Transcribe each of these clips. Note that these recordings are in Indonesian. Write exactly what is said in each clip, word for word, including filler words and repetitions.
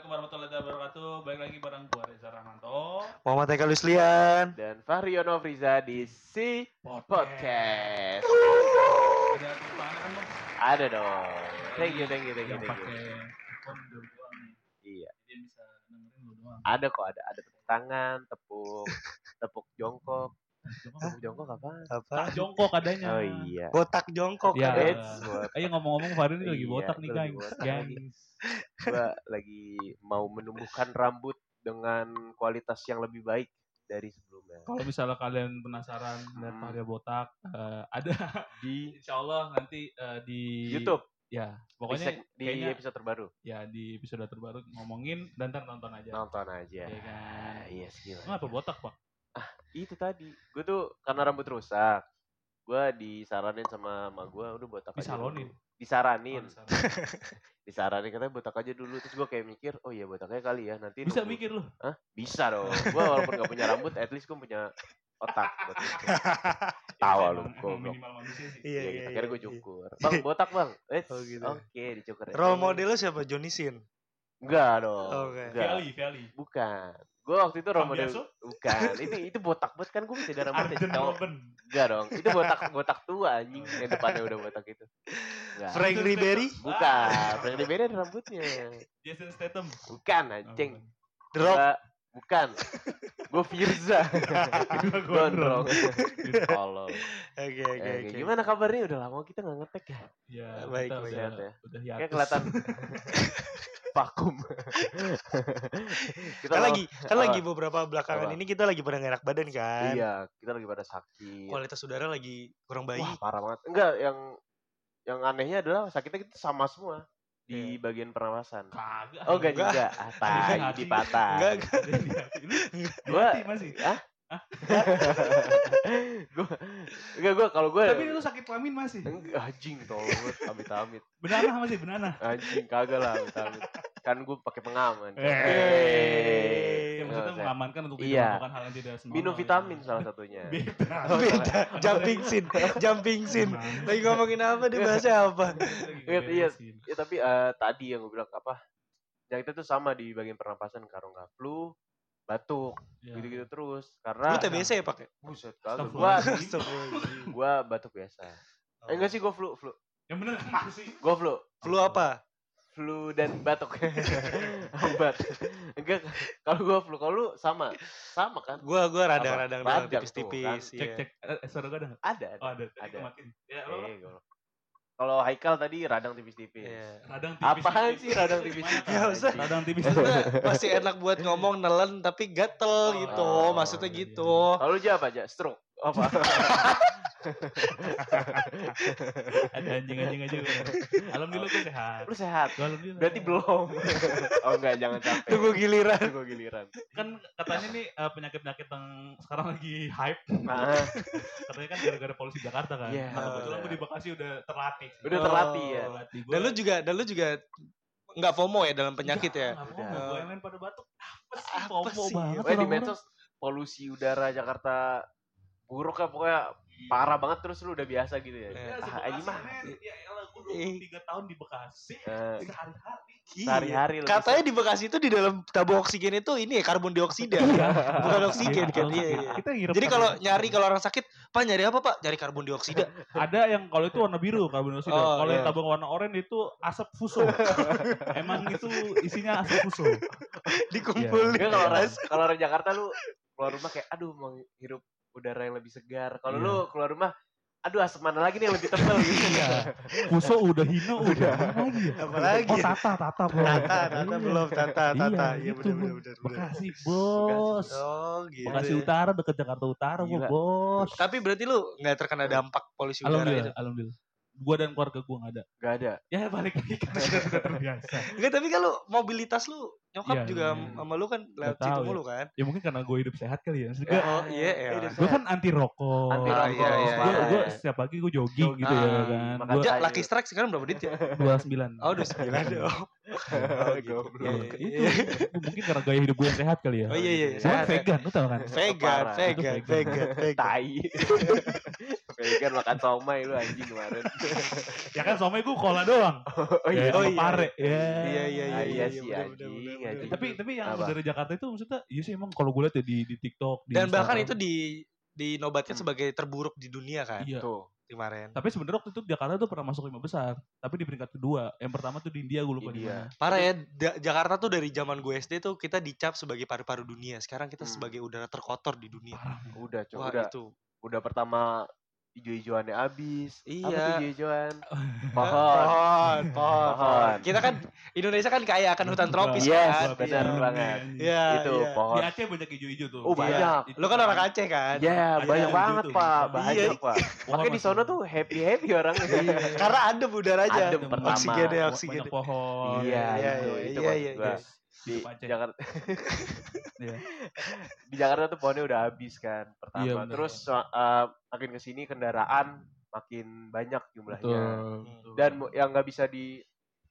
warahmatullahi wabarakatuh. Balik lagi bareng gua Reza Rahmanto, Muhammad Eka Luslian dan Fahriono Friza di Si Podcast. Ada tepuk tangan kan Bang? Ada dong. Thank you, thank you, thank you, Yang thank pakai you. headphone dulu doang nih. Iya, Jadi dia bisa dengerin lu doang. ada kok, ada ada tepuk tangan, tepuk tepuk jongkok. Tepuk jongkok apa? apa? Tak jongkok adanya. Oh iya. Botak jongkok Iya. ada. It's what- Ayo ngomong-ngomong Farin ini lagi Iya, botak nih gua lagi guys. botak Guys. lagi. Gua lagi mau menumbuhkan rambut dengan kualitas yang lebih baik dari sebelumnya. Kalau misalnya kalian penasaran lihat Hmm. Faria botak, eh, ada Di insya Allah nanti eh, di YouTube, Ya, di, pokoknya seg- di kayaknya episode terbaru. ya di episode terbaru ngomongin dan ntar nonton aja. Nonton aja. Iya kan. Ah, iya sih. Kenapa botak, Pak? Itu tadi, gue tuh karena rambut rusak, gue disaranin sama emak gue udah botak aja Disalonin? dulu. Disaranin, Oh, disaranin katanya botak aja dulu. Terus gue kayak mikir, oh iya botaknya kali ya nanti. bisa nunggu- mikir lu. Hah? Bisa dong. Gue walaupun gak punya rambut, at least gue punya otak. buat mikir. Tawa lu, Emang- emang goblok. minimal manusia sih. Iya, Iya, iya, gitu. Akhirnya iya, gue iya. cukur. Bang, botak bang. Eh, Oh, gitu. oke, dicukur. ya. Role model lu siapa? Johnny Sin. Enggak dong. Oke. Enggak. Vali, Vali. Bukan. Gue waktu itu role model. Cambiaso? Bukan. Itu itu botak banget kan gue masih ada rambutnya. Arjen cowok. Robben. Enggak dong. Itu botak botak tua anjing. Yang depannya udah botak itu. Enggak. Frank Ribery. Bukan. Frank Ribery ada rambutnya. Jason Statham. Bukan Oh, anjing. bukan. The Rock. Gua- bukan. Gue Firza. Gua Gondrong. gondrong. Tolong. Oke oke Eh, oke. Gimana kabarnya? Udah lama kita nggak ngetek ya. Ya, Baik, kita baik. udah, Sehat ya? udah Kayak hiatus. kelihatan vakum. Kita Kan lama- lagi kan apa? lagi beberapa belakangan Apa? ini kita lagi pada nggak enak badan kan. Iya, kita lagi pada sakit. Kualitas udara lagi kurang baik. Wah, parah banget. Enggak, yang yang anehnya adalah sakitnya kita sama semua di Iya. bagian pernapasan. Kagak. Oh, enggak Enggak. juga. Ah, tai, Hati. di patah. Enggak, enggak. Gua Hati masih. gua enggak gua kalau gua Tapi lu sakit kelamin masih. enggak anjing tolong amit-amit. Benana masih benana. Anjing kagak lah amit-amit. Kan gua pakai pengaman. Eh. Eh. Ya, maksudnya Nggak usah. mengamankan untuk tidak Iya. melakukan hal yang tidak senonoh. Minum vitamin salah satunya. Beda. Beda. Jumping scene. Jumping scene. Gimana? Lagi ngomongin apa dia bahasa apa? Lagi Iya, iya. beresin. Ya tapi eh, tadi yang gue bilang apa? Yang itu tuh sama di bagian pernapasan kalau nggak flu, batuk, Ya. gitu-gitu terus. Karena Lu T B C ya pakai? buset kagak. Astagfirullah. Gua Astagfirullahaladzim. gua batuk biasa. Eh, enggak sih gua flu, flu. Yang bener kenapa sih? Gua flu. Flu apa? Flu dan batuk. Obat. Enggak kalau gua flu, kalau lu sama. Sama kan? Gua gua Apa? radang-radang Radang doang tuh, tipis-tipis. Cek iya. cek. Eh, suara gua ada nggak? Ada. ada. Oh ada. Tadi Ada. gua matiin. Ya lo. Eh, gua- Kalau Haikal tadi radang tipis-tipis. Iya. Radang tipis. Apaan sih radang tipis-tipis? Ya, usah. Radang tipis. Maksudnya masih enak buat ngomong nelen tapi gatel gitu. Oh, Maksudnya iya, gitu. Kalau lu apa aja? Stroke. Apa? Ada anjing-anjing aja. Alhamdulillah gue sehat. Lu sehat. Gua alhamdulillah. Berarti belum. Oh enggak, jangan capek. Tunggu giliran. Tunggu giliran. Kan katanya nih eh, penyakit-penyakit yang sekarang lagi hype. Nah, Katanya kan gara-gara polusi Jakarta kan. Iya, Nah, kebetulan benar. gue di Bekasi udah terlatih. udah Oh. terlatih ya. Terlatih. Gua- Dan lu juga dan lu juga nggak FOMO ya dalam penyakit ya? Nggak, nggak Udah. FOMO. Gue yang main pada batuk. Apa sih? Apa FOMO sih? banget. Pokoknya di orang-orang. medsos polusi udara Jakarta buruk lah pokoknya parah banget terus lu udah biasa gitu ya. Eh. Ya, Ah, se-Bekasi, ini mah. men. Ya elah, gue dua Eh. puluh tiga tahun di Bekasi. Eh, Sehari-hari. sehari-hari lu Katanya di Bekasi itu di dalam tabung oksigen itu ini ya karbon dioksida. Bukan oksigen kan. Iya, iya. Kita ngirup Jadi kalau karbon nyari kalau orang sakit, Pak nyari apa Pak? Nyari karbon dioksida. ada yang kalau itu warna biru karbon dioksida. Oh, kalau yang iya. tabung warna oranye itu asap fuso. Emang itu isinya asap fuso. Dikumpulin. Enggak, kalau orang kalau orang Jakarta lu keluar rumah kayak aduh mau hirup udara yang lebih segar. Kalau Iya. lu keluar rumah aduh asap mana lagi nih yang lebih tebal gitu. Iya. Fuso udah hino udah. Apa lagi ya? Apalagi? Oh tata tata belum. Tata, Tata Iya. belum, Tata, Tata. Iya Iya, benar itu. benar benar. benar. Bekasi bos. Oh gitu. Bekasi Utara deket Jakarta Utara gua Gila. bos. Tapi berarti lu nggak terkena dampak polusi udara Alhamdulillah, itu? alhamdulillah. Gua dan keluarga gua nggak ada. Gak ada. Ya balik lagi karena kita sudah terbiasa. Enggak, tapi kan lu mobilitas lu nyokap Iya, juga iya. sama lu kan lewat tahu situ ya. mulu kan? Ya mungkin karena gue hidup sehat kali ya. Maksudnya Oh iya ya. hidup gue kan anti rokok. Anti Ah, rokok. iya, iya, Gue iya. gue setiap pagi gue jogging gitu ya Jogging. kan. Makan Gue Ja, sayur. Lucky Strike sekarang berapa dit ya? dua sembilan. Oh, udah sembilan dong. Oh, gitu. Goblok. Iya, Itu iya, iya. mungkin karena gaya hidup gue yang sehat kali ya. Oh iya iya. Gue kan sehat ya. vegan, lu tau kan? Vegan, Parah. vegan, Itu vegan. vegan, vegan. Tai. Vegan makan somai lu anjing kemarin. Ya kan somai gue cola doang. Oh Ya, iya. sama Oh, iya. pare. Ya. Iya iya iya Ah, iya, iya iya, sih, bener, anjing, bener, bener, anjing. bener. Tapi tapi yang Apa? dari Jakarta itu maksudnya iya sih emang kalau gue lihat ya di di TikTok di Dan bahkan Instagram. itu di dinobatkan Hmm. sebagai terburuk di dunia kan Iya. Tuh. kemarin. Tapi sebenarnya waktu itu Jakarta tuh pernah masuk lima besar, tapi di peringkat kedua. Yang pertama tuh di India, gue lupa di India. mana. Parah ya, Da- Jakarta tuh dari zaman gue S D tuh kita dicap sebagai paru-paru dunia. Sekarang kita Hmm. sebagai udara terkotor di dunia. Parah. men. Udah, Cok. Wah Udah. itu. Udah pertama ijo-ijoannya abis. Apa Iya. tuh ijo-ijoan? Pohon, Pohon. pohon, pohon. Pohon. Kita kan Indonesia kan kaya akan hutan tropis Yes, kan. benar Iya. banget. Iya, Itu iya. Di pohon. Aceh banyak hijau-hijau tuh. Oh, banyak. Itu Lo kan orang Aceh kan? Ya, Ada banyak hijau banget, tuh. Pak. Iya. Banyak, Pak. Pohon Makanya di sono masih- tuh happy-happy orangnya. Karena adem udaranya. Adem pertama. Oksigennya, Banyak oksigen. pohon. Iya, Iya, itu, iya, itu iya, maksud iya, gua. iya. Di Hidup Aceh. Jakarta Iya. di Jakarta tuh pohonnya udah habis kan pertama. Iya, bener. Terus uh, makin kesini kendaraan makin banyak jumlahnya. Betul. Dan mu- yang nggak bisa di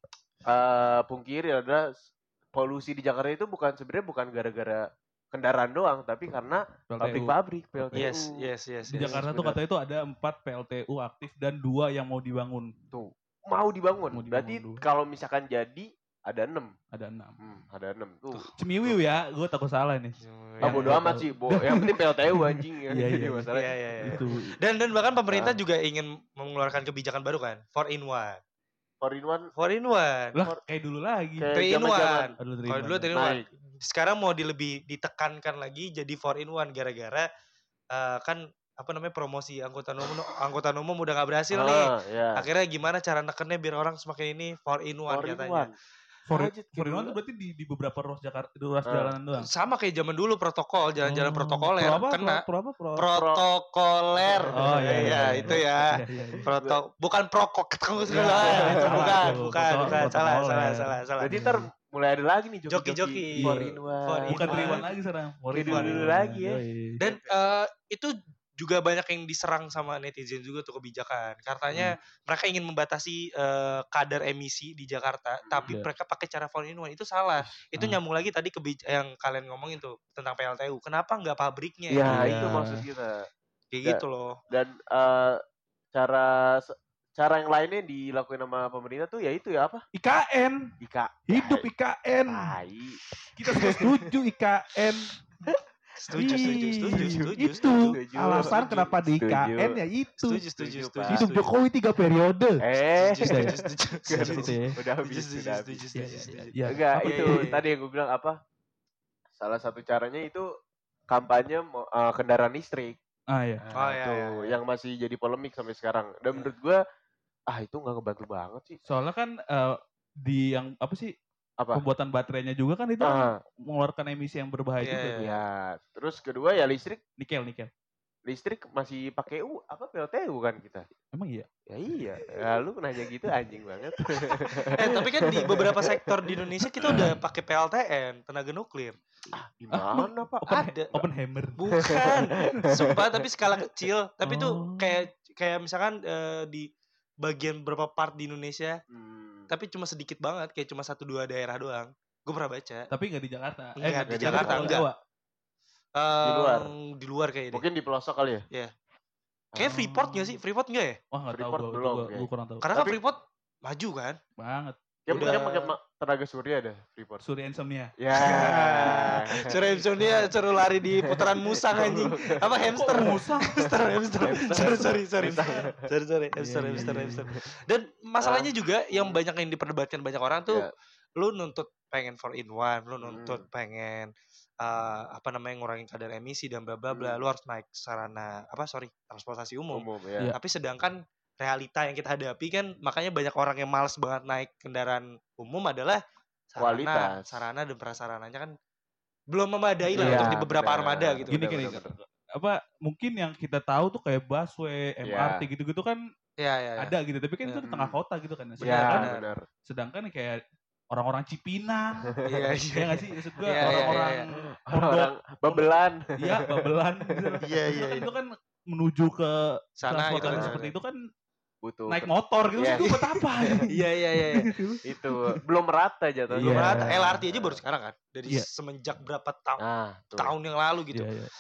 uh, pungkiri adalah s- polusi di Jakarta itu bukan sebenarnya bukan gara-gara kendaraan doang, tapi karena P L T U. pabrik-pabrik P L T U. Yes, yes, yes. Di yes. Jakarta tuh benar. katanya itu ada empat P L T U aktif dan dua yang mau dibangun. Tuh mau dibangun. Mau dibangun Berarti dulu. kalau misalkan jadi ada enam. Ada enam. Hmm, ada enam tuh. Cemiwiu ya, gue takut salah nih. Ah, Yang bodo gua amat tahu. sih, Bo. Yang penting P L T U anjing ya. Iya, Jadi iya. masalah. Iya, iya, iya. Itu. Dan dan bahkan pemerintah Ah. juga ingin mengeluarkan kebijakan baru kan, four in one. four in one four in one. Lah kayak dulu lagi. Kayak three in zaman-zaman one. Aduh, terima. Kalau dulu three in one. naik. Sekarang mau di lebih ditekankan lagi jadi four in one gara-gara eh, kan apa namanya promosi angkutan umum angkutan umum udah nggak berhasil nih. Ah, ya. Akhirnya gimana cara nekennya biar orang semakin ini four in one four in katanya. one. For, Aja, for in kayak one tuh dulu. berarti di, di beberapa ruas Jakarta, di ruas Ah. jalanan doang. Sama kayak zaman dulu protokol, jalan-jalan Oh, protokoler pro apa, kena. Pro, pro apa? Pro, Protokoler. Oh, iya, iya, Iya, iya. itu ya. Iya, iya, iya. Proto bukan prokok ketemu Iya, segala. iya, Itu salah bukan, tuh. bukan, Protokol- bukan. Salah, protokoler. salah, salah, salah. Berarti ntar mulai ada lagi nih Joki-joki. joki-joki Iya. four in one. Four in Bukan one. three in one lagi sekarang. Four in Kayak one. dulu-dulu lagi ya. Yoi. Dan eh, itu juga banyak yang diserang sama netizen juga tuh kebijakan. Katanya mereka ingin membatasi eh, kadar emisi di Jakarta, tapi Iya. mereka pakai cara four in one itu salah. Itu Ah. nyambung lagi tadi ke yang kalian ngomongin tuh tentang P L T U. Kenapa nggak pabriknya? Ya, Iya. itu maksud kita. Kayak Ya. gitu loh. Dan eh, cara cara yang lainnya dilakuin sama pemerintah tuh ya itu ya apa? I K N. I K. Hidup I K N. Tai. Kita semua setuju I K N. Setuju, setuju, Ih, setuju, setuju, Itu setuju. alasan Setuju. kenapa di I K N Setuju. ya itu. Setuju, setuju, Setuju, setuju. Pak. Hidup setuju. Jokowi tiga periode. Eh, Setuju, setuju, setuju, Setuju, setuju. setuju ya. udah habis, Setuju, setuju, udah setuju, habis. setuju, Iya, setuju. iya. Enggak, Apa itu iya, iya. tadi yang gue bilang apa? Salah satu caranya itu kampanye mo- eh, kendaraan listrik. Ah ya. Nah, Oh, iya, itu iya, iya. yang masih jadi polemik sampai sekarang. Dan menurut gue, ah itu nggak ngebantu banget sih. Soalnya kan eh, di yang apa sih Apa? pembuatan baterainya juga kan itu Ah, mengeluarkan emisi yang berbahaya Iya, juga. iya. tuh. ya. Terus kedua ya listrik, Nikel, nikel. listrik masih pakai U apa P L T U kan kita. Emang iya? Ya iya. Ya, lu nanya gitu anjing banget. Eh tapi kan di beberapa sektor di Indonesia kita udah pakai P L T N, tenaga nuklir. Gimana Pak? Open, Ada. Oppenheimer. Bukan. Sumpah tapi skala kecil. Tapi Oh. tuh kayak kayak misalkan eh, di bagian beberapa part di Indonesia, Hmm. tapi cuma sedikit banget, kayak cuma satu dua daerah doang. Gue pernah baca. Tapi nggak di Jakarta. Nggak di di Jakarta, Pulau enggak. Jawa. Eh, luar. Di luar kayaknya deh. Mungkin di pelosok kali ya? Iya. Kayak Freeport gak sih? Freeport gak ya? Wah nggak tahu Freeport gue. belum, Gue kayaknya. kurang tahu. Karena kan Tapi- Freeport maju kan? Banget. Ya Udah. mereka pakai ma- tenaga surya ada Freeport. Surya Insomnia. Ya. Suruh Insomnia suruh lari di putaran musang anjing. Apa hamster? Musang. hamster, hamster. Sorry, sorry, sorry. Sorry, sorry. Hamster, Iya, iya, hamster, iya. hamster. Dan masalahnya juga yang banyak yang diperdebatkan banyak orang tuh, Ya. lu nuntut pengen four in one, lu nuntut Hmm. pengen eh, apa namanya ngurangin kadar emisi dan bla bla bla. Hmm. Lu harus naik sarana apa sorry transportasi umum. Umum Iya. ya. Tapi sedangkan realita yang kita hadapi kan makanya banyak orang yang malas banget naik kendaraan umum adalah sarana, Kualitas. sarana dan prasarananya kan belum memadai lah Iya, untuk di beberapa benar. armada gitu. Gini, Benar, gini. benar, benar. Apa mungkin yang kita tahu tuh kayak busway, M R T Iya. gitu-gitu kan Iya, iya, iya. ada gitu. Tapi kan itu di Hmm. tengah kota gitu kan. Ya, Sedangkan, benar. benar. sedangkan kayak orang-orang Cipinang, Iya, ya iya. nggak sih? Maksud gue Iya, iya, orang-orang iya, Orang babelan. Iya, babelan gitu. Iya, iya, Itu kan, iya. itu kan menuju ke Sana itu transportasi kan. seperti itu kan Butuh. naik motor gitu. Yes. Itu buat apa? Iya, iya, iya. iya. Itu belum merata jatuhnya. Belum Iya. rata. L R T aja baru sekarang kan. Dari Iya. semenjak berapa tahun Nah, tuh. tahun yang lalu gitu. Iya, iya.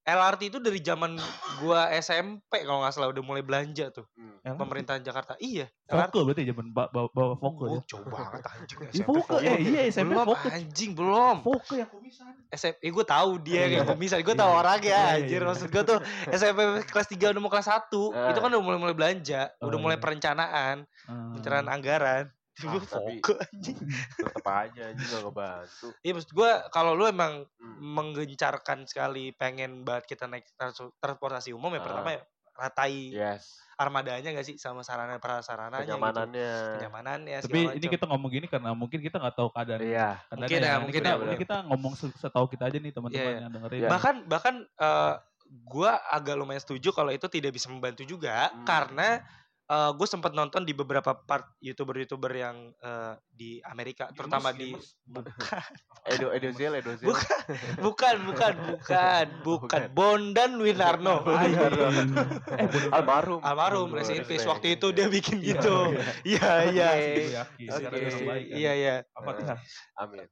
L R T itu dari zaman gua S M P kalau nggak salah udah mulai belanja tuh. Hmm. L R T. Pemerintahan Jakarta. Iya. L R T. Foke berarti zaman ba- bawa bawa Foke Oh, ya. jauh banget anjing. Iya S M P Foke, eh iya S M P belum Foke. anjing belum. Foke yang kumisan. S M P, eh, gue tahu dia Iya. kayak komisar, gue Iya, tahu iya. orang Iya, ya, iya, anjir. iya. Maksud gue tuh S M P kelas tiga udah mau kelas satu, Ah. itu kan udah mulai-mulai belanja, Oh, udah mulai iya. perencanaan, Hmm. perencanaan anggaran. Ah, Gue tapi- Foke anjing. Tetep aja anjing gak ngebantu. Iya maksud gue kalau lu emang Hmm. menggencarkan sekali pengen banget kita naik trans- transportasi umum ya Ah. pertama ya ratai Yes. armadanya gak sih sama sarana prasarananya gitu. Kenyamanannya. Kenyamanannya Tapi segala ini macam. kita ngomong gini karena mungkin kita nggak tahu keadaan. Iya. keadaannya Mungkin ya, Ini mungkin kita, ya, ini benar. kita ngomong se- setahu kita aja nih teman-teman Iya, iya. yang dengerin. Iya. bahkan bahkan eh, gue agak lumayan setuju kalau itu tidak bisa membantu juga Hmm. karena gue sempat nonton di beberapa part youtuber-youtuber yang eh, di Amerika terutama di Edo Edozel Edozel. Bukan. bukan bukan bukan bukan Bondan Winarno Anjing. eh bener. almarhum Almarhum. Almarhum, rest in peace respect. waktu itu dia bikin Iya, gitu iya iya Oke. Gue yakin. Oke. Sekarang udah baik kan. iya iya Al-Fatihah. Amin.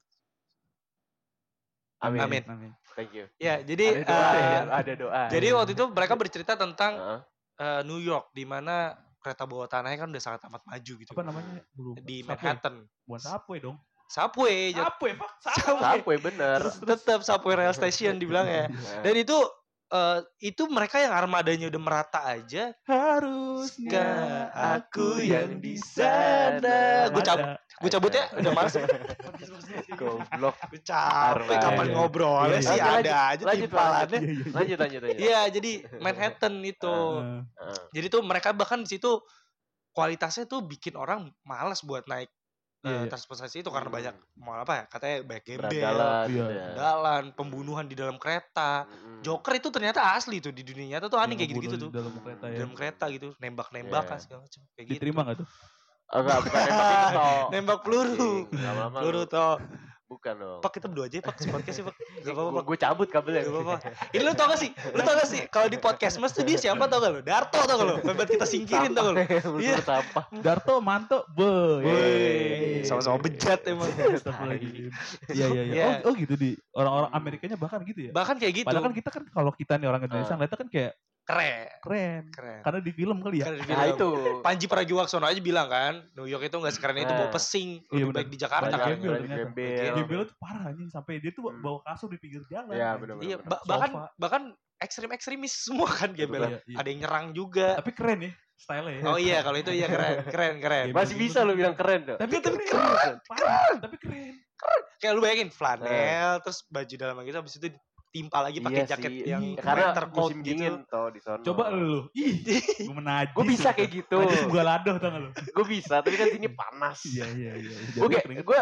Amin. Amin. Amin. Thank you. ya jadi Ada doa. eh, ya, ada doa. jadi waktu itu mereka bercerita tentang Heeh. eh, New York di mana kereta bawah tanahnya kan udah sangat amat maju gitu Apa namanya? Belum. di Subway. Manhattan Bukan Subway dong. Subway jat- Subway, Pak. Subway. Subway bener. terus tetap Subway Rail Station dibilang ya. Dan itu eh, itu mereka yang armadanya udah merata aja. Harusnya aku yang di sana. Gue cabut, gue cabut ya. Udah males. Goblok. Gue capek. Armada. Kapan ngobrolnya Iya, sih iya. ada aja Lanjut, timpalannya. Iya, iya. Lanjut lanjut lanjut. Iya, jadi Manhattan itu. Eh, Heeh. Jadi tuh mereka bahkan di situ kualitasnya tuh bikin orang malas buat naik eh, Iya, iya. transportasi itu karena Hmm. banyak mau apa ya? Katanya banyak gembel, Berandalan. Iya. ya. dalan, pembunuhan di dalam kereta. Mm-mm. Joker itu ternyata asli tuh di dunia nyata tuh aneh yang kayak gitu-gitu tuh. ngebunuh di dalam kereta Di ya. dalam kereta gitu, nembak-nembakan Iya. segala macam kayak Diterima gitu. nggak tuh? Oh, enggak, bukan nembak itu toh. Nembak peluru. Anjing, lama-lama Peluru lu- toh. Bukan dong. Pak kita berdua aja ya, Pak, si podcast ya, Pak. Gak apa-apa, Pak. Gue cabut kabelnya. Gak apa-apa. Ini lu tau gak sih? Lu tau gak sih? Kalau di podcast mas tuh dia siapa tau gak lu? Darto tau gak lu? Buat kita singkirin tau gak lu? Iya. Iya. Sampah. Darto, Manto, be. Woi, sama-sama bejat emang. Astagfirullahaladzim. Iya, iya, iya. Iya. Oh, oh gitu di orang-orang Amerikanya bahkan gitu ya. Bahkan kayak gitu. Padahal kan kita kan kalau kita nih orang Indonesia Ah. ngeliatnya kan kayak Keren. keren. Keren. Karena di film kali ya. Karena di Nah film. itu. Panji Pragiwaksono aja bilang kan, New York itu gak sekeren itu Nah. bawa pesing. Iya, Lebih bener. baik di Jakarta Banyak kan. gembel Banyak ternyata. gembel. Gembel tuh parah anjing sampai dia tuh Hmm. bawa kasur di pinggir jalan. Iya, anjing. bener-bener. Iya, bener. ba- bahkan Sofa. bahkan ekstrim-ekstremis semua kan gembel. Iya, iya. Ada yang nyerang juga. Tapi keren ya style ya. Oh iya, kalau itu iya keren, keren, keren. Gembel Masih gitu bisa tuh. lu bilang keren tuh. Tapi Tapi keren. Parah, tapi keren. Kayak lu bayangin flanel, terus baju dalam gitu, habis itu timpa lagi pakai Iya jaket sih. yang Iya, Karena winter coat musim gitu. dingin toh di sana. Coba lu. Ih, gue menajis. Gue bisa kayak gitu. Najis gua ladoh tau gak lu? Gue bisa, tapi kan sini panas. Iya, iya, iya. Gue kayak gue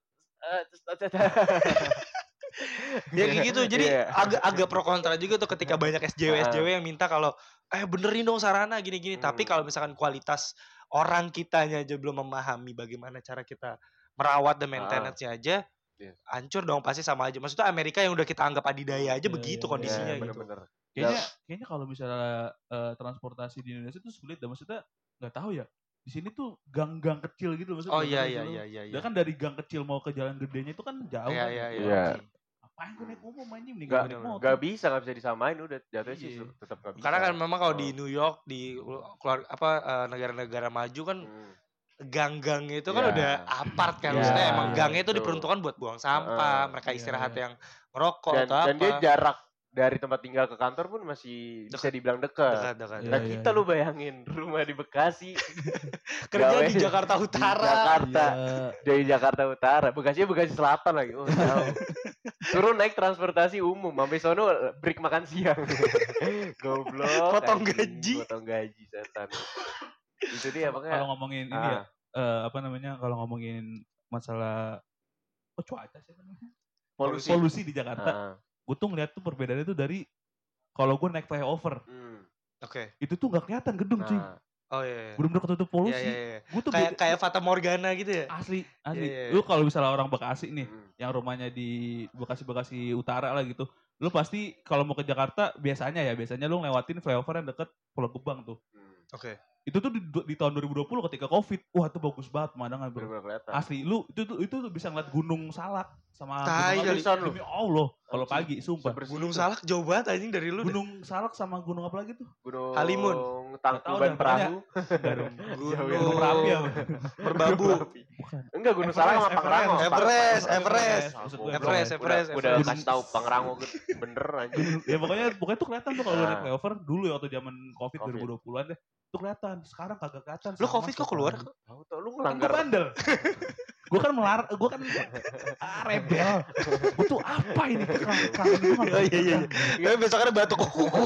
Ya kayak gitu. Jadi Iya. agak agak pro kontra juga tuh ketika banyak S J W S J W yang minta kalau eh benerin dong sarana gini-gini. Tapi Hmm. kalau misalkan kualitas orang kitanya aja belum memahami bagaimana cara kita merawat dan maintenance-nya aja, Iya. hancur dong pasti sama aja. Maksudnya Amerika yang udah kita anggap adidaya aja Iya, begitu iya, kondisinya iya, gitu. bener-bener. Kayaknya kayaknya kalau misalnya eh, transportasi di Indonesia tuh sulit dan maksudnya nggak tahu ya. Di sini tuh gang-gang kecil gitu maksudnya. Oh iya gang-gang iya kecil. iya iya. Udah kan dari gang kecil mau ke jalan gedenya itu kan jauh Iya kan. iya iya. Iya. Apaan gue naik umum anjing mending Gak, gue naik motor. gak bisa, gak bisa disamain udah jatuhnya sih Iya. tetap gak bisa. Karena kan memang kalau Oh. di New York di keluar apa eh, negara-negara maju kan Hmm. gang-gang itu kan Iya. udah apart kan. Iya, Maksudnya emang iya, gangnya itu betul. diperuntukkan buat buang sampah, Heeh, mereka iya, istirahat iya. yang ngerokok dan, atau dan apa. dia jarak dari tempat tinggal ke kantor pun masih bisa Dekat. dibilang dekat. Dekat-dekat. Iya, Nah iya, kita iya. lu bayangin rumah di Bekasi, Kerja gawe di Jakarta di Utara. Jakarta, Iya. dari Jakarta Utara, Bekasinya Bekasi Selatan lagi, oh jauh. Suruh naik transportasi umum, sampai sono break makan siang. Goblok. Potong anjing, gaji. Potong gaji setan. Itu dia Kalau makanya. ngomongin ini Ah. ya, eh, apa namanya? Kalau ngomongin masalah oh cuaca sih namanya. Polusi. Polusi di Jakarta. Ah, Gue tuh ngeliat tuh perbedaannya tuh dari kalau gue naik flyover, hmm. Oke. itu tuh nggak kelihatan gedung cuy. Nah, Oh iya. iya. Bener-bener ketutup polusi. Iya, iya, iya. Gue tuh Kayak beda- kayak Fata Morgana gitu ya. asli, asli. Iya, iya, Lu kalau misalnya orang Bekasi nih, hmm. yang rumahnya di Bekasi-Bekasi Utara lah gitu, lu pasti kalau mau ke Jakarta biasanya ya, biasanya lu ngelewatin flyover yang deket Pulau Gebang tuh. Hmm. Oke. Itu tuh di, di tahun dua ribu dua puluh ketika Covid, wah itu bagus banget pemandangan bro. Bener-bener kelihatan. Asli, lu itu tuh itu tuh bisa ngeliat Gunung Salak sama Tai Gunung kali. Agung. Demi Allah. Kalau pagi, sumpah. Sebersih Gunung itu. Salak jauh banget anjing dari lu. Gunung Salak sama gunung apa lagi tuh? Gunung Halimun. Tangkuban Nggak tahu dah, Perahu. Enggak dong. Gunung Gunung Merapi apa? Merbabu. Bukan. Enggak, Gunung Salak sama Everest, Pangrango. Everest, Pak. Everest. Maksud gue Everest, Udah- Everest, Udah, udah Everest. kasih tahu Pangrango bener aja. Ya pokoknya pokoknya tuh kelihatan tuh kalau lu Nah. naik flyover dulu ya waktu zaman Covid Covid. dua ribu dua puluhan deh. Tuh kelihatan. Sekarang kagak kelihatan. Lu sama Covid kok setiap keluar? hari. Tahu tuh lu Kan gue ngelanggar. bandel. Gue kan melar, gue kan ah, rebel. Gue tuh apa ini kelangkaan gue nggak Oh iya iya. iya. Tapi besok ada batuk.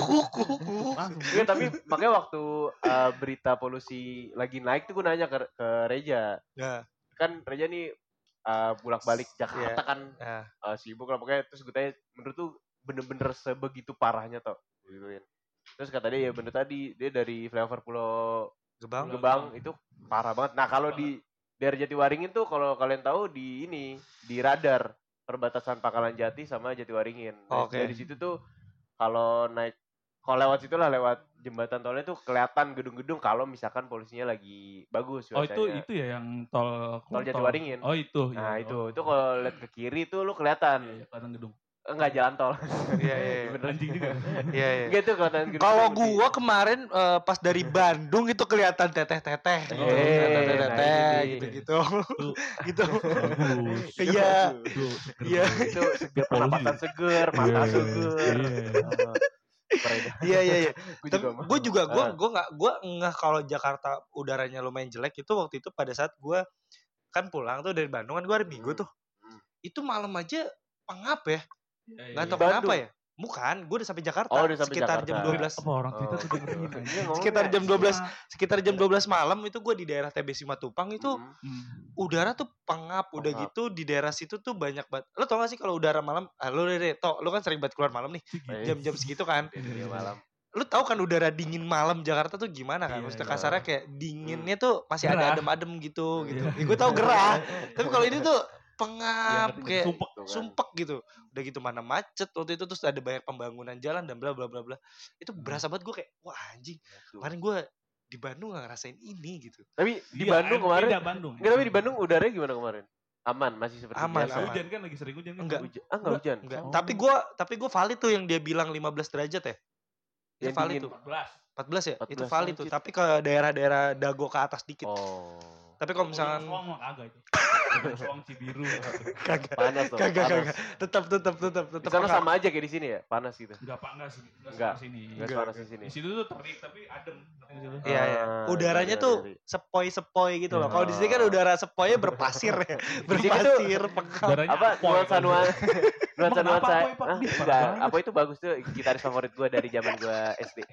langsung. Iya, tapi makanya waktu uh, berita polusi lagi naik tuh gue nanya ke, ke Reja. Nah, Kan Reja nih uh, bolak-balik Jakarta Iya. kan nah. uh, sibuk lah pokoknya. Terus gue tanya, menurut tuh bener-bener sebegitu parahnya toh? Gituin. Terus kata dia ya bener tadi, dia dari flyover Pulau Gebang. Gebang itu parah banget. Nah kalau di daerah Jatiwaringin tuh kalau kalian tahu di ini di radar perbatasan Pangkalan Jati sama Jatiwaringin. Nah, Oke. dari situ tuh kalau naik kalau lewat situ lah lewat jembatan tolnya tuh kelihatan gedung-gedung kalau misalkan polusinya lagi bagus. Oh itu cuacanya. itu ya yang tol Tol Jatiwaringin. Oh itu. Nah iya. itu Oh. itu kalau lihat ke kiri tuh lu kelihatan Iya, iya, kelihatan gedung. enggak jalan tol. Iya iya. iya. Bener. Anjing juga. Iya iya. Enggak tuh kelihatan gedung. Kalau gede. gua kemarin eh, pas dari Bandung itu kelihatan teteh-teteh gitu. Eh, Teteh-teteh nah ini nih. gitu-gitu. Itu Gitu. bagus. Iya. Itu seger Iya. banget. Itu seger Polusi. pernapasan seger, mata Iya, seger. iya. Ah, keren. Iya iya iya. Gua Tapi mau. gue juga gue Ah. gue nggak gue ngeh kalau Jakarta udaranya lumayan jelek itu waktu itu pada saat gue kan pulang tuh dari Bandung kan gue hari Minggu Hmm. tuh itu malam aja pengap ya Iya, iya, nggak iya. tahu Bandung? kenapa ya bukan gue udah sampai Jakarta Oh, udah sampai sekitar Jakarta. jam dua belas Apa orang Twitter Oh. tuh dengerin Iya, anjing. ngomongnya sekitar jam dua belas Cuma, sekitar jam dua belas malam itu gue di daerah T B Simatupang itu Hmm. hmm, udara tuh pengap udah Pengap. gitu di daerah situ tuh banyak banget lo tau gak sih kalau udara malam ah, lo deh deh toh lo kan sering banget keluar malam nih gitu. Eh. jam-jam segitu kan Iya, malam. lu tahu kan udara dingin malam Jakarta tuh gimana kan? Iya, Maksudnya iya. kasarnya kayak dinginnya tuh masih ada Gerah. adem-adem gitu gitu. Iya. Ya, gue tahu gerah. Tapi kalau ini tuh pengap Iya, kayak sumpek. Gitu kan. sumpek gitu. Udah gitu mana macet waktu itu terus ada banyak pembangunan jalan dan bla bla bla bla. Itu Hmm. berasa banget gue kayak wah anjing. Tuh. Kemarin gue di Bandung gak ngerasain ini gitu. Tapi di Iya, Bandung em- kemarin beda Bandung. enggak, tapi di Bandung udaranya gimana kemarin? Aman, masih seperti Aman, biasa. Lagi aman. hujan kan lagi sering hujan kan. Enggak. Hujan. Ah, enggak hujan. Enggak. Oh. Tapi gue tapi gue valid tuh yang dia bilang lima belas derajat ya. Itu Yang valid dingin. tuh. empat belas. empat belas ya? Itu empat belas valid tuh. anjir. Tapi ke daerah-daerah Dago ke atas dikit. Oh. Tapi kalau misalkan Soang mah kagak itu. Soang Cibiru. kagak Panas tuh. kagak panas. kagak tetap tetap tetap Di tetap sana pengap. sama aja kayak di sini ya, panas gitu. Enggak pak enggak sih. Enggak Enggak. sama sini. Enggak Enggak, panas di sini. Di situ tuh terik tapi adem. Di situ. Iya, iya. Ah, Udaranya iya, tuh iya, iya. sepoi-sepoi gitu loh. Iya. Kalau di sini kan udara sepoinya berpasir ya. Berpasir, pengap. Udaranya Apa apoy nuansa kan. nuansa nuansa Emang nuansa kenapa Apoy, Pak? Hah? Ih, parah Enggak, banget. apa itu bagus tuh gitaris favorit gue dari zaman gue S D.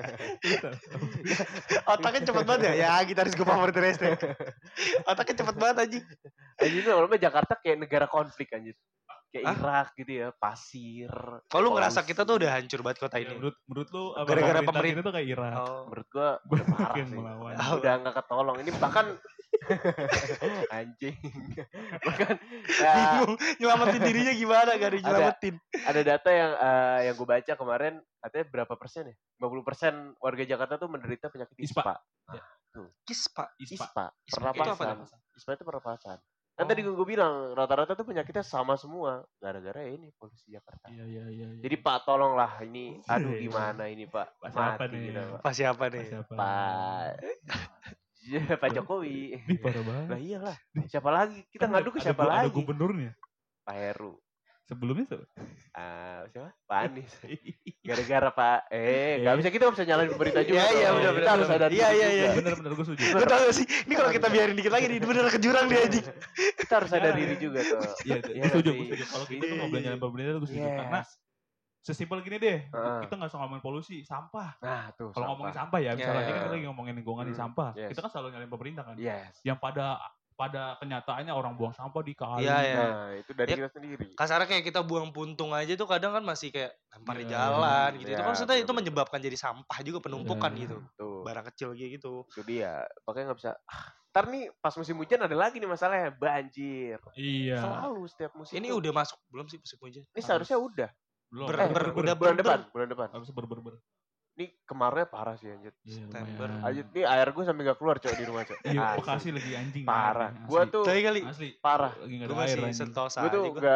Otaknya cepet banget ya. Ya gitaris gue favorit dari S D. Otaknya cepet banget anjing. Anjir tuh lama Jakarta kayak negara konflik anjir. Kayak Hah? Irak gitu ya, pasir. Kalau lu ngerasa polusi. kita tuh udah hancur banget kota Ya, ini. menurut menurut lu apa Gara-gara pemerintah pemerintah. kita tuh kayak Irak. Oh. Menurut gue Gua udah parah makin sih. melawan. Oh. Udah nggak ketolong. Ini bahkan anjing. Bahkan ya, Bingung nyelamatin dirinya gimana gak ada yang Ada. nyelamatin. ada data yang eh, yang gue baca kemarin katanya berapa persen ya? lima puluh persen warga Jakarta tuh menderita penyakit Ispa. ispa. Kis pak. Ispa. Ispa, Ispa itu apa pernapasan. namanya? Ispa itu pernapasan. Kan Oh. tadi gue bilang rata-rata tuh penyakitnya sama semua gara-gara ya ini polusi Jakarta. Iya iya iya. iya. Jadi Pak tolonglah ini, aduh Iya. gimana ini Pak, Pak siapa mati nih? gitu Pak. Pas siapa nih? Siapa? Pak, Iya, Pak Jokowi. Ih, parah banget. Lah iyalah, siapa lagi? Kita Kan ngadu ke ada siapa gu- lagi? Ada gubernurnya. Pak Heru. Sebelumnya tuh. Ah, siapa? Pak Anies. Gara-gara Pak, eh nggak Eh. bisa kita nggak bisa nyalain pemerintah juga. Iya, iya, dong. benar, Kita benar, harus benar. ada Iya, iya, iya. Bener bener gue setuju. Lu tau gak sih? Ini kalau kita biarin dikit lagi nih bener ke jurang dia anjing. Kita harus sadar diri juga tuh. Iya, Iya gue setuju, sih. gue setuju. Kalau kita Iya, tuh iya, ngobrol iya. nyalain pemerintah tuh gue setuju. Yes. Karena sesimpel gini deh, Heeh. kita nggak usah ngomongin polusi, sampah. Nah, tuh. Kalau ngomongin sampah ya, misalnya Iya, ini kan iya. kita lagi ngomongin lingkungan di Hmm, sampah. yes. Kita kan selalu nyalain pemerintah kan. Yes. Yang pada pada kenyataannya orang buang sampah di kali. Iya, iya. Nah, itu dari Ya, kita sendiri. Kasarnya kayak kita buang puntung aja tuh kadang kan masih kayak lempar di Iya, jalan gitu. iya, Itu kan maksudnya itu bener-bener. menyebabkan jadi sampah juga penumpukan Iya. gitu. Tuh. Barang kecil kayak gitu. Itu dia. Makanya nggak bisa. Ah, ntar nih pas musim hujan ada lagi nih masalahnya banjir. Iya. Selalu setiap musim. Ini tuh. udah masuk belum sih musim hujan? Ini seharusnya udah. Belum. Ber- Eh, ber- ber- udah bulan ber- depan, bulan depan. Harus ber ber ber. Ini kemarin parah sih anjir. Iya, September. lumayan. Anjir nih air gue sampai gak keluar cok di rumah cok. Iya, Asli. Bekasi lagi anjing. Parah. Asli. Gua tuh Tapi kali asli parah. lagi nggak gue ada air masih anjing. sentosa Gue tuh aja gua. nggak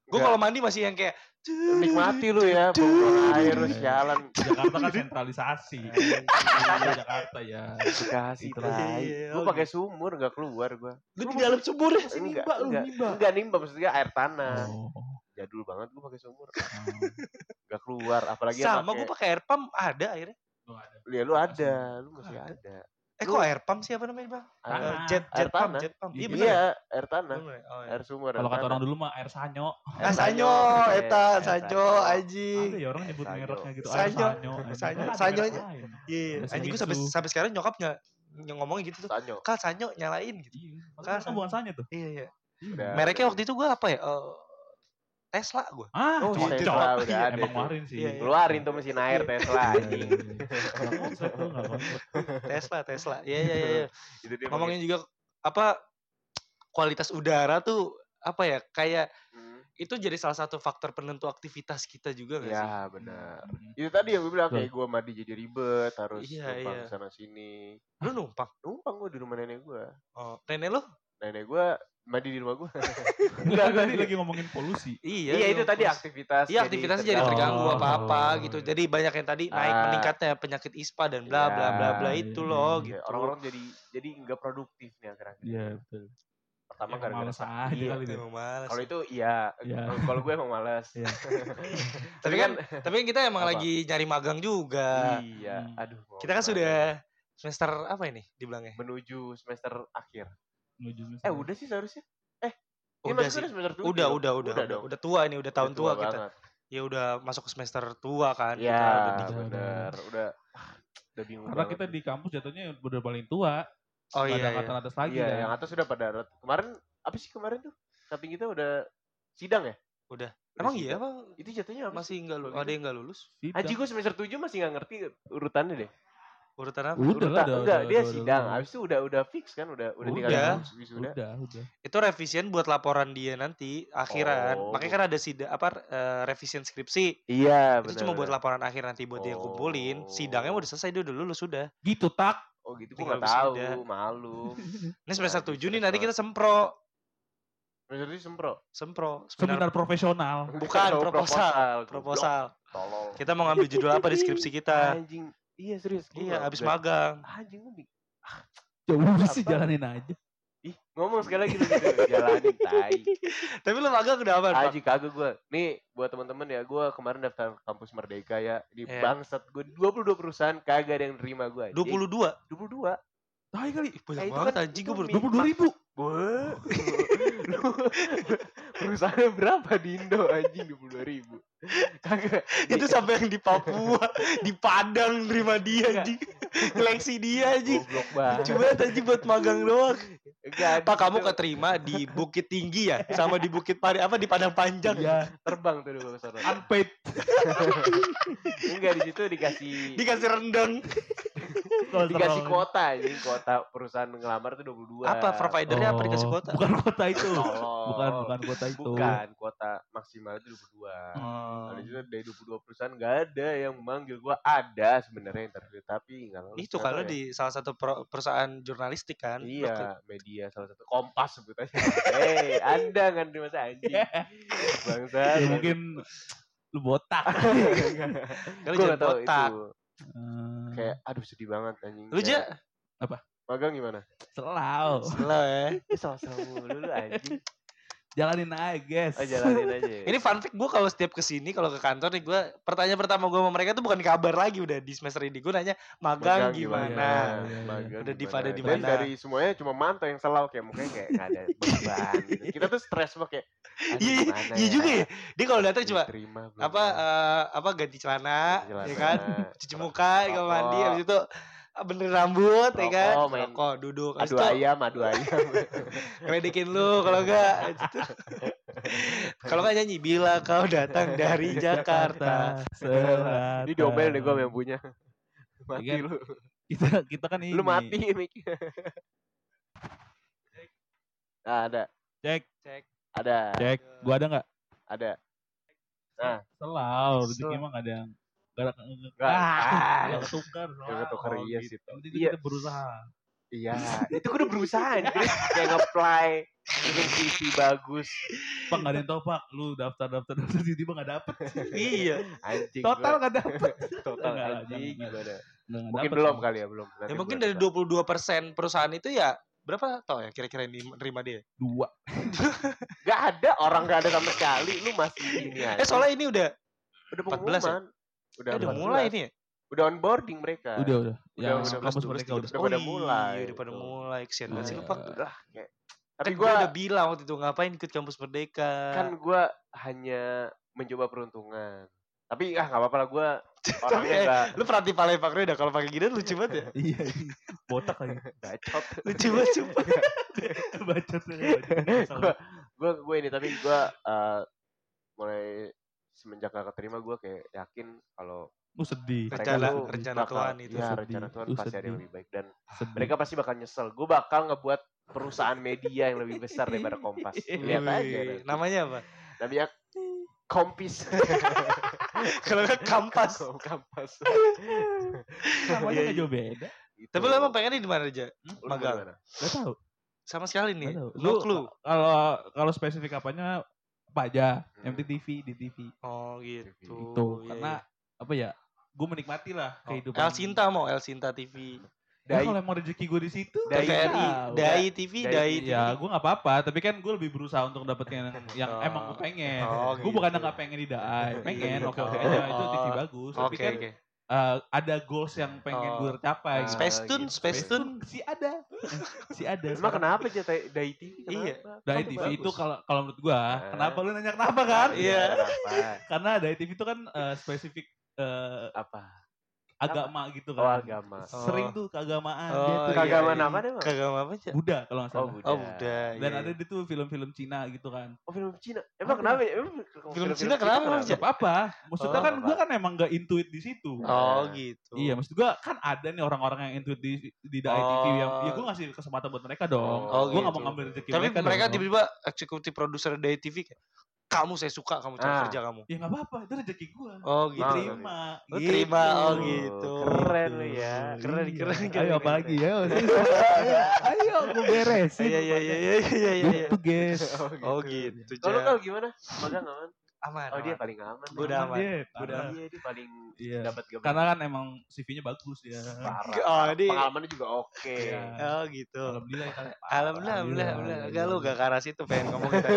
Gue kalau mandi masih yang kayak nikmati lu ya, buang air lu sialan. Jakarta kan sentralisasi. Iya, Jakarta ya. Bekasi Itulah. tai. Iya, Gue oh pakai sumur enggak keluar gua. Lu di dalam sumur ya? Masih Enggak, nimba lu, enggak. nimba. Enggak nimba maksudnya air tanah. Oh. Jadul banget gua pakai sumur. Oh. Enggak keluar apalagi Sama pakai- gue pakai air pump ada akhirnya. Lu ada. Ya lu ada, lu masih Ada. ada. Eh Lu- kok air pump sih apa namanya bang? Air- Eh, jet air jet pump, tanah. jet pump. Iya Iya, bener. Iya, ya? air tanah, Bener ya? Oh, iya. air sumur. Kalau air kata tanah. orang dulu mah air sanyo. Ah, sanyo, Sanyo, eta eh, sanyo sanyo. anjing. Ada ya orang nyebut Sanyo. mereknya gitu. Sanyo. Air sanyo. Sanyo. Ada Sanyo merek aja. lain. Iya, Ada anjing gue Shimizu. sampai sampai sekarang nyokap nggak ngomongin gitu tuh. Sanyo. Kal sanyo nyalain gitu. Iya. Kan Kan kan bukan sanyo tuh. Iya iya. Udah. Mereknya waktu itu gue apa ya? Eh, Tesla gue. Ah, Oh, cocok. Tesla udah Iya, ada. Emang tuh. ngeluarin sih. Iya, iya. Keluarin tuh mesin air Tesla anjing. Enggak konsep tuh, enggak konsep. Tesla Tesla. Iya iya iya. Itu dia Ngomongin juga apa kualitas udara tuh apa ya kayak pakai- Hmm. itu jadi salah satu faktor penentu aktivitas kita juga gak sih? Ya benar. Hmm. Itu tadi yang gue bilang Betul. kayak gue mandi jadi ribet, harus Iya, numpang iya. sana sini. Lu numpang? Numpang gue di rumah nenek gue. Oh, nenek lu? Nenek gue mandi di rumah gue. Enggak, tadi lagi ngomongin polusi. Iya. Iya itu numpang. tadi aktivitas. Iya aktivitasnya jadi terganggu Oh. apa-apa gitu. Jadi banyak yang tadi naik Ah. meningkatnya penyakit ispa dan bla bla bla bla Iya, itu iya, loh iya. Kayak gitu. orang-orang jadi jadi nggak produktif nih akhir-akhir. Iya, betul. Pertama Emang gara-gara males sa- aja iya. kali itu. Emang males. Kalau itu iya. Iya. Kalau- Kalau gue emang malas. Iya. Tapi kan tapi kan kita emang Apa? lagi nyari magang juga. Iya. Hmm. Aduh. mau Kita kan kemana? sudah semester apa ini dibilangnya? menuju semester akhir. Menuju semester. Eh udah sih seharusnya. Eh, ini Udah masuk sih. udah semester tujuh. Udah udah udah udah, dong. udah tua ini udah tahun Udah tua, kita. banget. Ya udah masuk ke semester tua kan. Iya, kita udah di- benar. Udah ah, udah bingung Karena banget. kita di kampus jatuhnya udah paling tua. Oh Nggak iya. ada iya. angkatan atas lagi Iya, kan. yang atas sudah pada rat- kemarin apa sih kemarin tuh? Samping kita udah sidang ya? Udah. Udah Emang iya sidang. apa Itu jatuhnya apa sih? masih enggak lu Kalau ada gitu? yang enggak lulus? Sidang. Haji gue semester tujuh masih gak ngerti urutannya deh. Urutan apa? Udah lah, Urutan, udah, enggak, udah, dia udah, sidang. udah. Habis itu udah udah fix kan, udah udah tinggal Udah. wis- wisuda. Udah, udah. Itu revisian buat laporan dia nanti akhiran. Oh. Makanya kan ada sida apa eh, revisian skripsi. Iya, Itu benar. cuma buat benar. laporan akhir nanti buat dia kumpulin. Oh. Sidangnya udah selesai dia udah lulus sudah. Gitu tak. Oh gitu gue Tinggal gak tahu, wisuda. malu. Ini semester Aduh, tujuh nih stres nanti kita banget. sempro. Semester tujuh sempro. Sempro. Seminar profesional. Bukan, Oh, proposal. goblok. Proposal. Tolol. Kita mau ngambil judul apa di skripsi kita? Anjing. Iya serius. gua Iya, nggak- abis nggak- magang. Anjing gue bi- Coba sih Apa? jalanin aja. Ih, ngomong sekali lagi lu gitu. Jalanin tai. Tapi lu magang udah apa? Pak? Aji kagak gue. Nih buat teman-teman ya, gue kemarin daftar kampus Merdeka ya. Di Iya. bangsat gue dua puluh dua perusahaan kagak ada yang nerima gue. dua puluh dua. dua puluh dua. Tai kali. Ih, banyak Eh, itu banget kan- anjing itu gue baru mi- dua puluh dua ribu. Gue. Perusahaannya berapa di Indo anjing dua puluh dua ribu. Kagak. itu sampai yang di Papua, di Padang nerima dia Enggak. anjing. Seleksi dia anjing. Goblok banget. Cuma anjing buat magang doang. Enggak, Pak kamu itu keterima di Bukit Tinggi ya, sama di Bukit Pari apa di Padang Panjang. Iya. terbang tuh dulu ke sana. Unpaid. Enggak di situ dikasih Dikasih rendang. dikasih kuota anjing, kuota perusahaan ngelamar tuh dua puluh dua. Apa providernya apa dikasih Oh, kuota? Bukan kota itu. Tolol. Bukan bukan kota itu. Bukan, kuota maksimal itu dua puluh dua. Oh. Nah, di situ dari dua puluh dua perusahaan nggak ada yang memanggil gua. Ada sebenarnya interview tapi nggak lolos. Itu Nggak kalau tahu ya. di salah satu pro- perusahaan jurnalistik kan. Lu ke- Iya, media salah satu Kompas sebut aja. Hei, Anda nggak nerima saya anjing. Bangsa. Ya mungkin lu botak. Kalau Gua jangan nggak tahu botak. itu. Hmm, Kayak aduh sedih banget anjing. Lu Kayak, aja magang gimana? Selau. slow ya. Ih, salah-salah mulu lu anjing. Jalanin aja, guys. Oh, jalanin aja. ya. Ini fun fact gue kalau setiap kesini kalau ke kantor nih gue pertanyaan pertama gue sama mereka tuh bukan kabar lagi udah di semester ini gue nanya magang, gimana? Iya, iya, Magang Udah di gimana? pada di Dan mana? dari semuanya cuma mantau yang selalu kayak mukanya kayak nggak ada beban gitu. Kita tuh stres banget kayak aduh, Iya, gimana iya juga ya. Dia kalau datang cuma Diterima belum apa ya? eh, apa ganti celana, Ganti celana, ya kan? Cuci muka, kamar mandi, rokok. habis itu ah, benerin rambut, ya kan? Rokok, main- Rokok, duduk, habis adu itu ayam, adu ayam. ngeledekin lu kalau enggak gitu. Kalau enggak nyanyi bila kau datang dari Jakarta. Selatan. Ini diomel deh gue yang punya. Mati Iya. lu. Kita kita kan ini. Lu mati Mik. Nah, ada. Cek, Cek. Ada. cek. Gua ada nggak? Ada. Nah, Selau. Selau. Rezeki emang nggak ada yang nggak ada Nggak. ah, Ah. nggak ketukar. Nggak ketukar, Oh, iya gitu. sih, Toh. Yang penting Iya. kita berusaha. Iya, itu gue udah berusaha anjir. Kayak nge-apply bikin C V bagus. Pak nggak ada yang tahu pak, lu daftar daftar daftar tiba-tiba nggak dapet. Iya. Anjing. Total gua- nggak dapet. total Enggak lah, anjing jangan, gimana. Nggak- nggak Mungkin dapet belum sih. kali ya, belum. Nanti Ya mungkin gua dari coba. dua puluh dua persen perusahaan itu ya berapa tau ya kira-kira yang nerima dia? Dua. Gak ada orang gak ada sama sekali. Lu masih ini aja. Eh soalnya ini udah udah empat belas ya? pengumuman. Udah, eh, udah empat belas. mulai ini ya? Udah onboarding mereka. Udah udah. Yang udah, kampus dua belas, mereka udah. Udah pada mulai, Iya, udah pada gitu. mulai. Kesian banget sih lu, Iya. Pak. Udah, kayak- Tapi Tapi gue gua udah bilang waktu itu ngapain ikut kampus Merdeka. kan gue hanya mencoba peruntungan. Tapi ah nggak apa-apa lah gue Tapi orangnya eh, nggak lu perhati Pak Lepaknya udah kalau pakai gini lucu banget ya. Iya. iya. Botak lagi. bacot. Lucu banget sumpah. Bacot. Gue gue ini tapi gue uh, mulai semenjak gak keterima gue kayak yakin kalau Lu sedih. mereka Rencana- tuh rencana bakal- Tuhan itu iya, sedih. rencana Tuhan Lu pasti ada yang sedih. lebih baik dan Sedih. mereka pasti bakal nyesel. Gue bakal ngebuat perusahaan media yang lebih besar daripada Kompas. Lihat aja. Wih, nanti. namanya apa? Namanya Kompis. Kalau nggak Kampas. Kampas. Namanya Iya, nggak iya. jauh beda. Gitu. Tapi lu emang pengennya di mana aja? Lu magang? gimana? Gak tahu. Sama sekali nih. Gak tahu. No clue. Kalau kalau spesifik apanya apa aja? Hmm. M T T V, di T V. Oh gitu. Itu Iya, karena iya. apa ya? Gue menikmati lah Oh, kehidupan. El Sinta mau El Sinta T V. Ya, Dai- kalau emang rezeki gue di situ, Dai- T V R I, tahu. Dai T V, Dai Dai T V. T V. Ya, gue nggak apa-apa. Tapi kan gue lebih berusaha untuk dapetin yang, yang Oh. emang gue pengen. Oh, gue bukan gitu. nggak pengen di Dai, pengen Gitu. oke oke aja itu T V bagus. Tapi Oke kan oke. eh, ada goals yang pengen Oh. gue capai. Ah, Space Tune, gitu. Space Tune. si ada, si ada. Emang sekarang. kenapa aja Dai- Dai T V? Iya. Kenapa? Dai Kan T V bagus. itu kalau kalau menurut gue, Ah. kenapa lu nanya kenapa kan? Iya. Kenapa? Karena Dai T V itu kan eh, spesifik eh, Apa? agama gitu Oh, kan. agama. Sering tuh keagamaan Oh, dia tuh. iya, Keagamaan iya. apa deh, Bang? Kagak apa aja. Buddha kalau nggak Oh, salah. Buddha. Oh udah. Dan iya. ada di tuh film-film Cina gitu kan. Oh, film Cina. Emang Ada. kenapa ya? Emang Film Cina kenapa, Bang? Gak apa-apa. Maksudnya Oh, kan gue apa. kan emang gak intuit di situ. Oh gitu. Iya, maksud gue kan ada nih orang-orang yang intuit di di Dai T V yang ya gue ngasih kesempatan buat mereka dong. Oh, gue gak gitu. mau ngambil rezeki Tapi mereka, mereka dong. tiba-tiba eksekutif produser Dai T V kayak, kamu saya suka kamu cara Ah. kerja kamu. Ya gak apa-apa, itu rezeki gue. Oh gitu. Mau, Terima. Oh, terima. Oh, gitu. Keren lu ya. Keren, Iya. keren, keren, Ayo keren. apa lagi ya? ayo, ayo gue beresin. Iya iya iya iya iya iya. Gitu guys. Oh gitu. Kalau Ja. kau gimana? Magang aman? Aman. Oh, dia aman. paling aman. Gua udah aman. Dia, Gua udah parah. Iya, dia paling Iya. dapat gaban. Karena kan emang C V-nya bagus ya. parah. Oh, dia- Pengalamannya juga oke. Iya. Oh gitu. Alhamdulillah ya kan. Alhamdulillah, alhamdulillah, Iya, alhamdulillah. iya, Enggak lu iya. gak ke arah situ pengen ngomong gitu.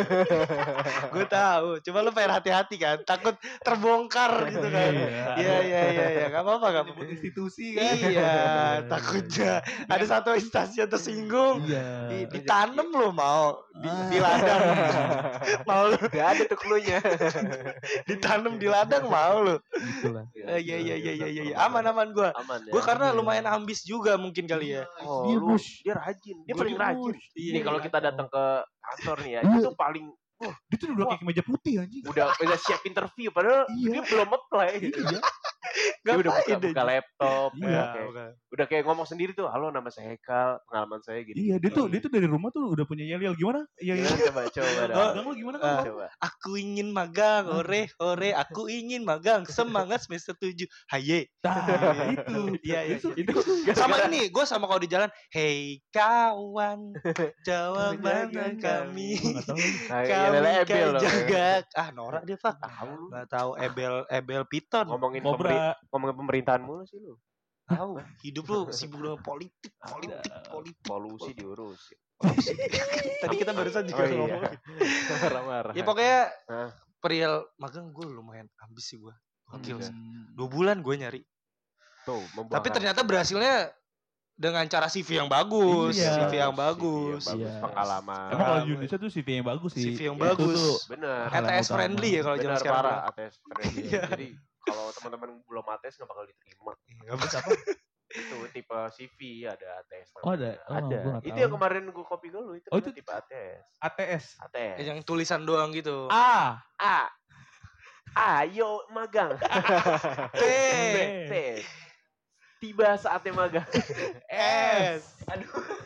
Gue tahu. Cuma lu pengen hati-hati kan. Takut terbongkar gitu kan. Iya iya iya iya. Gak apa-apa gak apa-apa. Nyebut institusi kan. Iya, takutnya ada satu instansi yang tersinggung. Iya. Di- Ditanam lo mau di, di Ah. ladang. Mau lu Gak ada tuh cluenya. ditanam di ladang mau lu. Gitulah. Eh, Iya iya iya iya iya. Aman aman gue. Aman ya. Gue karena Iya. lumayan ambis juga mungkin kali ya. Oh, Dia lu, bus. dia rajin. Dia Gua paling dia rajin. bus. Iya, Nih kalau iya. kita datang ke kantor nih ya, Iya. itu paling Dia tuh udah pakai kemeja putih anjing. udah udah siap interview padahal Iya. dia belum apply. Iya. Dia udah buka, Ngapain deh? buka laptop, Iya. udah, Ya, kayak, bukan. udah kayak ngomong sendiri tuh, halo nama saya Hekal, pengalaman saya gini. Iya, dia tuh dia tuh dari rumah tuh udah punya yel-yel gimana? Iya, iya. Gimana coba coba dah. Oh, Gang lu gimana Ah. kan? Coba. Aku ingin magang, ore, ore, aku ingin magang, semangat semester tujuh, haye. Nah, itu. Iya, iya. Itu Itu Sama ini, gue sama kalau di jalan, hey kawan, jawaban kami, Gua nggak tahu. Nah, kami Ebel kan Ebel loh. jaga. Ah, norak dia pak. Tahu lu. Nggak tahu Ebel, Ebel Piton. Ngomongin pemeri- Kobra. ngomongin pemerintahan mulu sih lu. Tahu, hidup lu sibuk dengan politik, politik, politik. Polusi diurusin. Tadi kita barusan juga Oh, iya. ngomong. Marah-marah. Ya pokoknya Hah? perihal magang gue lumayan ambis sih gue. Gokil Hmm. sih. Dua bulan gue nyari. Tuh, membuahkan- Tapi ternyata berhasilnya dengan cara C V yang bagus, Iya. C V yang C V bagus. bagus, Iya. pengalaman. Emang kalau Ah, di Indonesia tuh C V yang bagus sih. C V yang Itu bagus. tuh Bener. hal A T yang S friendly ya kalau zaman Bener sekarang. parah A T S friendly. Iya. Jadi kalau teman-teman belum A T S nggak bakal diterima. Enggak bisa apa? Itu tipe C V ada A T S. Oh, ada? Oh, ada. gua nggak Itu tahu. yang kemarin gue copy ke lu itu, Oh, namanya itu- tipe A T S. A T S. A T S. Yang tulisan doang gitu. A. A. Ayo magang. T. T. Tiba saatnya magang. S. Aduh.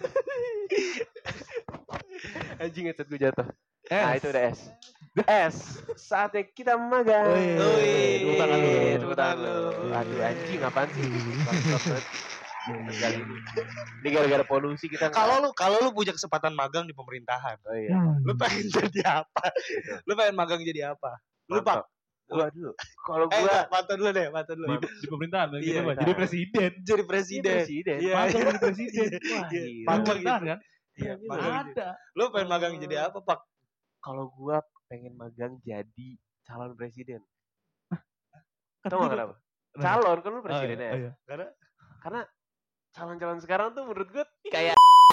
Anjing headset gue jatuh. S. Nah, itu udah S. S. Saatnya kita magang. Wih. Wih. Tepuk tangan lu. Tepuk tangan lu. Aduh anjing apaan sih? Bangsat banget. Kali ini. Ini gara-gara polusi kita nggak- Kalau lu kalau lu punya kesempatan magang di pemerintahan, Oh iya. lu pengen jadi apa? Lu pengen magang jadi apa? Lu Pak. Mantap. Gua dulu. Kalau Eh, gua enggak, pantau dulu deh, pantau dulu. Di, di pemerintahan Iya, gitu, Pak. iya. Jadi presiden. Jadi presiden. presiden. Iya, Magang iya. jadi presiden. Wah, Iya. gila. Magang Pemerintahan gitu. kan? Iya, Iya, magang gitu. Ada. Lu pengen magang jadi apa, Pak? Kalau gua pengen magang jadi calon presiden. Kan Tahu nggak juga- kenapa? Nah. Calon kan lu Oh, iya, presidennya. oh, iya. Karena Karena calon-calon sekarang tuh menurut gue kayak